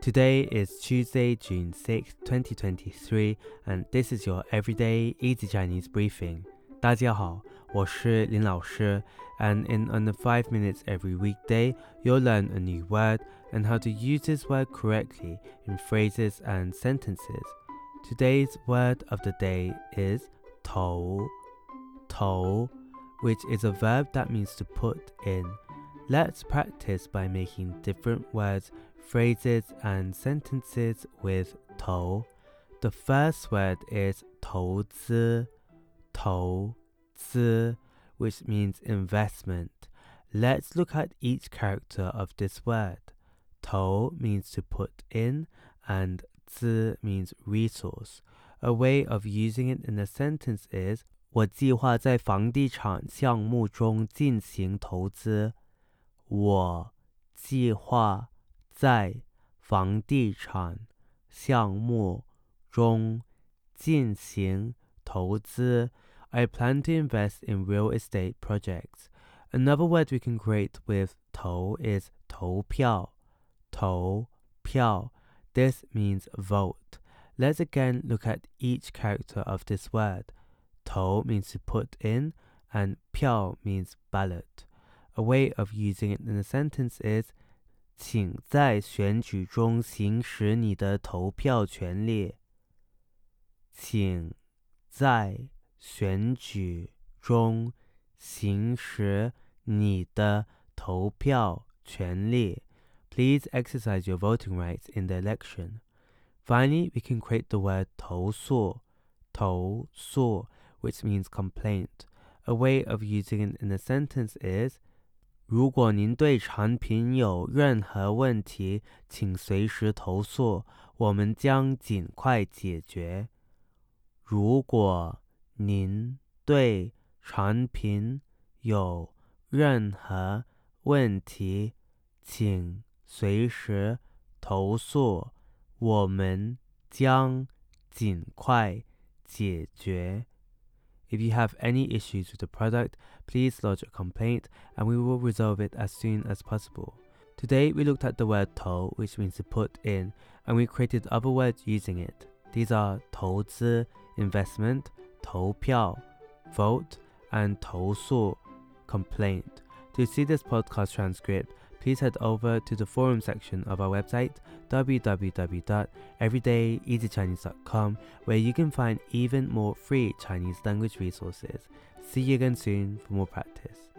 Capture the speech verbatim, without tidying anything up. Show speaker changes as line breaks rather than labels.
Today is Tuesday, June sixth, twenty twenty-three, and this is your everyday easy Chinese briefing. 大家好，我是林老师, and in under five minutes every weekday, you'll learn a new word and how to use this word correctly in phrases and sentences. Today's word of the day is 投, 投, which is a verb that means to put in. Let's practice by making different words, phrases and sentences with 投. The first word is 投资, 投资, which means investment. Let's look at each character of this word. 投 means to put in and 资 means resource. A way of using it in a sentence is 我计划在房地产项目中进行投资。我计划在房地产项目中进行投资。I plan to invest in real estate projects. Another word we can create with 投 is 投票，投票. This means vote. Let's again look at each character of this word. 投 means to put in and 票 means ballot. A way of using it in a sentence is 请在选举中行使你的投票权利。请在选举中行使你的投票权利。Please exercise your voting rights in the election. Finally, we can create the word 投诉, 投诉, which means complaint. A way of using it in a sentence is 如果您对产品有任何问题，请随时投诉，我们将尽快解决。如果您对产品有任何问题，请随时投诉，我们将尽快解决。If you have any issues with the product, please lodge a complaint and we will resolve it as soon as possible. Today we looked at the word 投, which means to put in, and we created other words using it. These are 投资, investment, 投票, vote, and 投诉, complaint. To see this podcast transcript, please head over to the forum section of our website, w w w dot everyday easy chinese dot com, where you can find even more free Chinese language resources. See you again soon for more practice.